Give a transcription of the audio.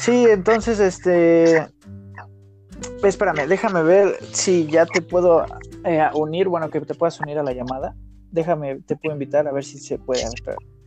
Sí, entonces, espérame, déjame ver si ya te puedo unir, bueno, que te puedas unir a la llamada. Déjame, te puedo invitar a ver si se puede. A ver, espera.